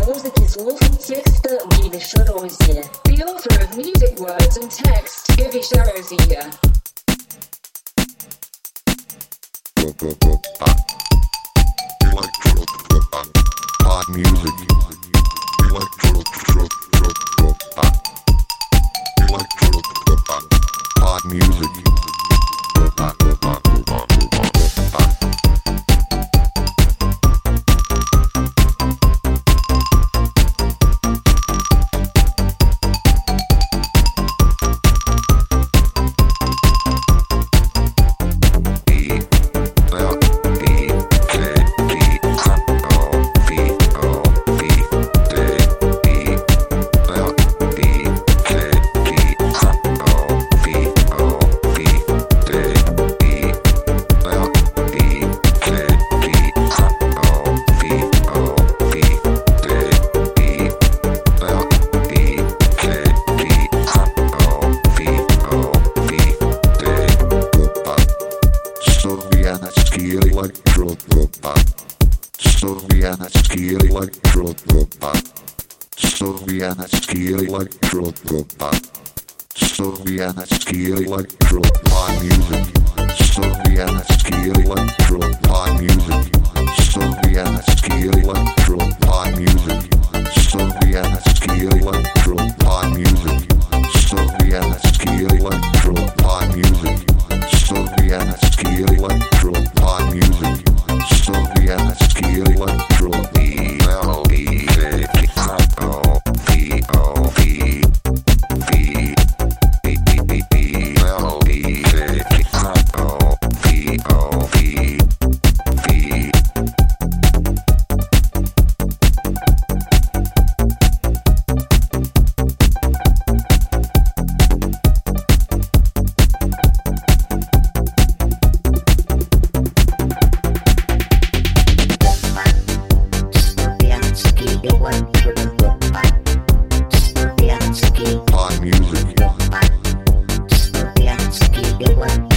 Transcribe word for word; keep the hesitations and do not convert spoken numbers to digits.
музыки, слов и текста Гиви Шарозия. The author of music words and text, Gиви Шарозия. Pop music, electro, pop, electro, pop music, pop, pop, pop, pop. Sovietski electropop. Sovietski electropop. Sovietski electropop music. Sovietski electropop music. Sovietski electropop music. Sovietski electropop music. Sovietski electropop music. Sovietski electropop music. Sovietski electropop Pop music. Pop music.